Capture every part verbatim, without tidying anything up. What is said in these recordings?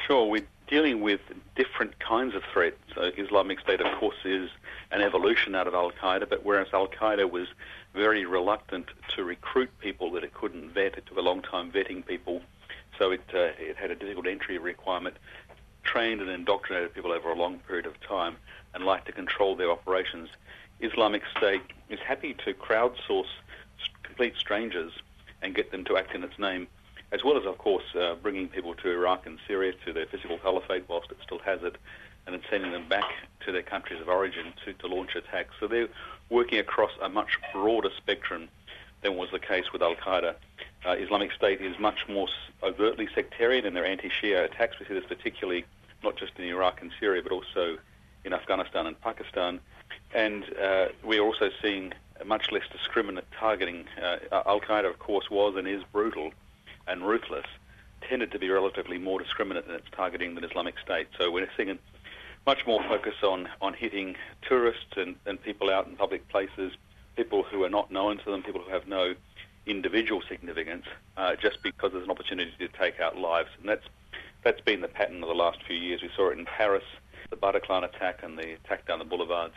Sure, we're dealing with different kinds of threats. So Islamic State, of course, is an evolution out of Al-Qaeda, but whereas Al-Qaeda was very reluctant to recruit people that it couldn't vet, it took a long time vetting people, so it, uh, it had a difficult entry requirement, trained and indoctrinated people over a long period of time, and liked to control their operations. Islamic State is happy to crowdsource complete strangers and get them to act in its name, as well as, of course, uh, bringing people to Iraq and Syria, to their physical caliphate whilst it still has it, and then sending them back to their countries of origin to, to launch attacks. So they're working across a much broader spectrum than was the case with Al-Qaeda. Uh, Islamic State is much more overtly sectarian in their anti-Shia attacks. We see this particularly not just in Iraq and Syria, but also in Afghanistan and Pakistan. And uh, we're also seeing a much less discriminate targeting. Uh, Al-Qaeda, of course, was and is brutal and ruthless, tended to be relatively more discriminate in its targeting than Islamic State. So we're seeing a much more focus on, on hitting tourists and, and people out in public places, people who are not known to them, people who have no individual significance, uh, just because there's an opportunity to take out lives. And that's that's been the pattern of the last few years. We saw it in Paris, the Bataclan attack and the attack down the boulevards.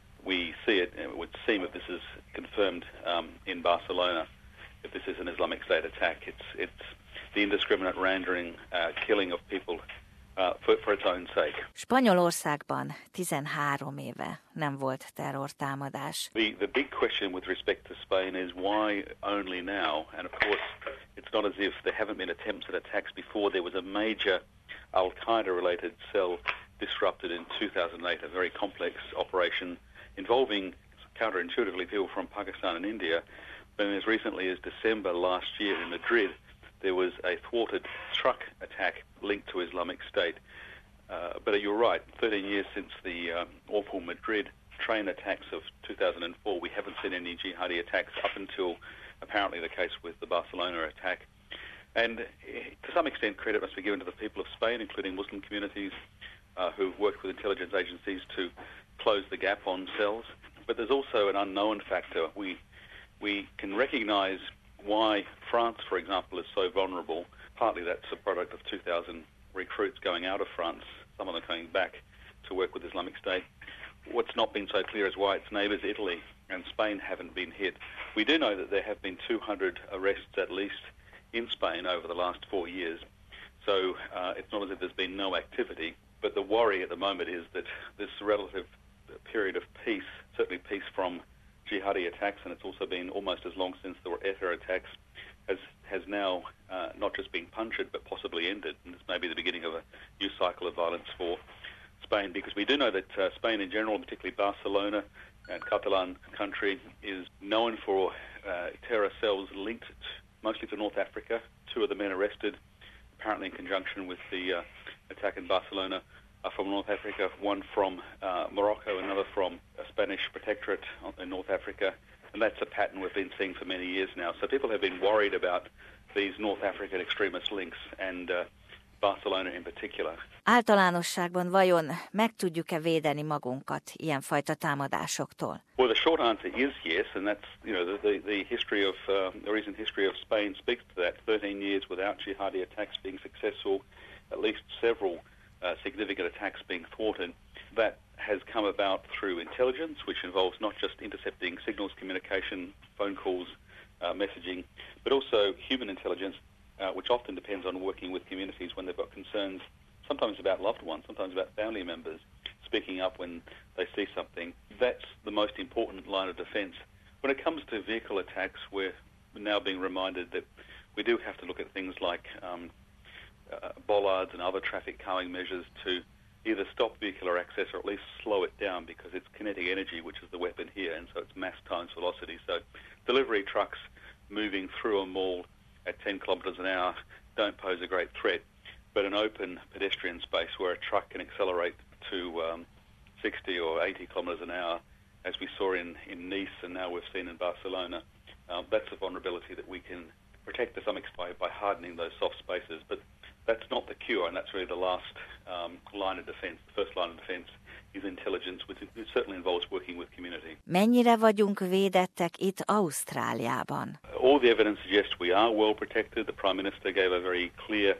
We see it, and it would seem if this is confirmed um, in Barcelona, if this is an Islamic State attack, it's it's the indiscriminate rendering, uh, killing of people uh, for, for its own sake. Spanyolországban tizenhárom éve nem volt terrortámadás. The, the big question with respect to Spain is why only now? And of course, it's not as if there haven't been attempts at attacks before. There was a major Al-Qaeda-related cell disrupted in two thousand eight, a very complex operation involving, counterintuitively, people from Pakistan and India. But as recently as December last year in Madrid, there was a thwarted truck attack linked to Islamic State. Uh, but you're right, thirteen years since the um, awful Madrid train attacks of two thousand four, we haven't seen any jihadi attacks up until apparently the case with the Barcelona attack. And to some extent, credit must be given to the people of Spain, including Muslim communities uh, who've worked with intelligence agencies to close the gap on cells. But there's also an unknown factor. We we can recognise why France, for example, is so vulnerable. Partly that's a product of two thousand recruits going out of France, some of them coming back to work with Islamic State. What's not been so clear is why its neighbours, Italy and Spain, haven't been hit. We do know that there have been two hundred arrests at least in Spain over the last four years. So uh, it's not as if there's been no activity, but the worry at the moment is that this relative period of peace, certainly peace from jihadi attacks, and it's also been almost as long since there were ETA attacks, has has now uh, not just been punctured but possibly ended, and this may be the beginning of a new cycle of violence for Spain, because we do know that uh, Spain in general, particularly Barcelona and Catalan country, is known for uh, terror cells linked mostly to North Africa. Two of the men arrested, apparently in conjunction with the uh, attack in Barcelona, are from North Africa, one from uh, Morocco, another from a Spanish protectorate in North Africa, and that's a pattern we've been seeing for many years now. So people have been worried about these North African extremist links, and uh, Barcelona in particular. Általánosságban vajon meg tudjuk-e védeni magunkat ilyenfajta támadásoktól? Well, the short answer is yes, and that's, you know, the, the, the history of, uh, the recent history of Spain speaks to that. thirteen years without jihadi attacks being successful, at least several uh, significant attacks being thwarted. That has come about through intelligence, which involves not just intercepting signals, communication, phone calls, uh, messaging, but also human intelligence, uh, which often depends on working with communities when they've got concerns, sometimes about loved ones, sometimes about family members, speaking up when they see something. That's the most important line of defence. When it comes to vehicle attacks, we're now being reminded that we do have to look at things like um, uh, bollards and other traffic calming measures to either stop vehicular access or at least slow it down, because it's kinetic energy which is the weapon here, and so it's mass times velocity. So delivery trucks moving through a mall at ten kilometres an hour don't pose a great threat, but an open pedestrian space where a truck can accelerate to um, sixty or eighty kilometres an hour, as we saw in, in Nice and now we've seen in Barcelona, um, that's a vulnerability that we can protect to some extent by hardening those soft spaces. But that's not the cure, and that's really the last um, line of defence. The first line of defence is intelligence, which it certainly involves working with community. Mennyire vagyunk védettek itt Ausztráliában? All the evidence suggests we are well protected. The Prime Minister gave a very clear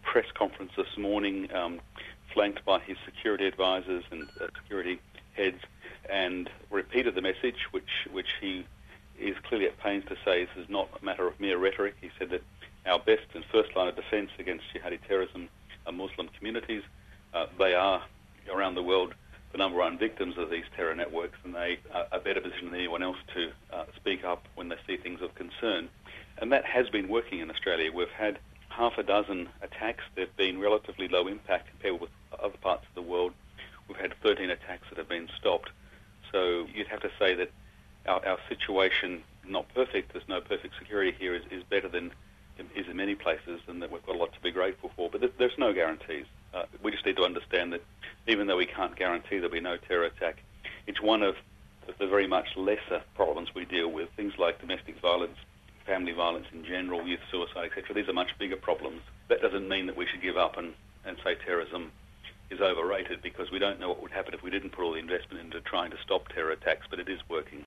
press conference this morning, um, flanked by his security advisors and uh, security heads, and repeated the message, which which he is clearly at pains to say this is not a matter of mere rhetoric. He said that our best and first line of defence against jihadi terrorism are Muslim communities. Uh, they are, around the world, the number one victims of these terror networks, and they are a better position than anyone else to uh, speak up when they see things of concern. And that has been working in Australia. We've had half a dozen attacks. They've been relatively low impact compared with other parts of the world. We've had thirteen attacks that have been stopped. So you'd have to say that our, our situation, not perfect, there's no perfect security here, is, is better than is in many places, and that we've got a lot to be grateful for. But th- there's no guarantees. Uh, we just need to understand that even though we can't guarantee there'll be no terror attack, it's one of the, the very much lesser problems we deal with. Things like domestic violence, family violence in general, youth suicide, et cetera. These are much bigger problems. That doesn't mean that we should give up and, and say terrorism is overrated, because we don't know what would happen if we didn't put all the investment into trying to stop terror attacks, but it is working.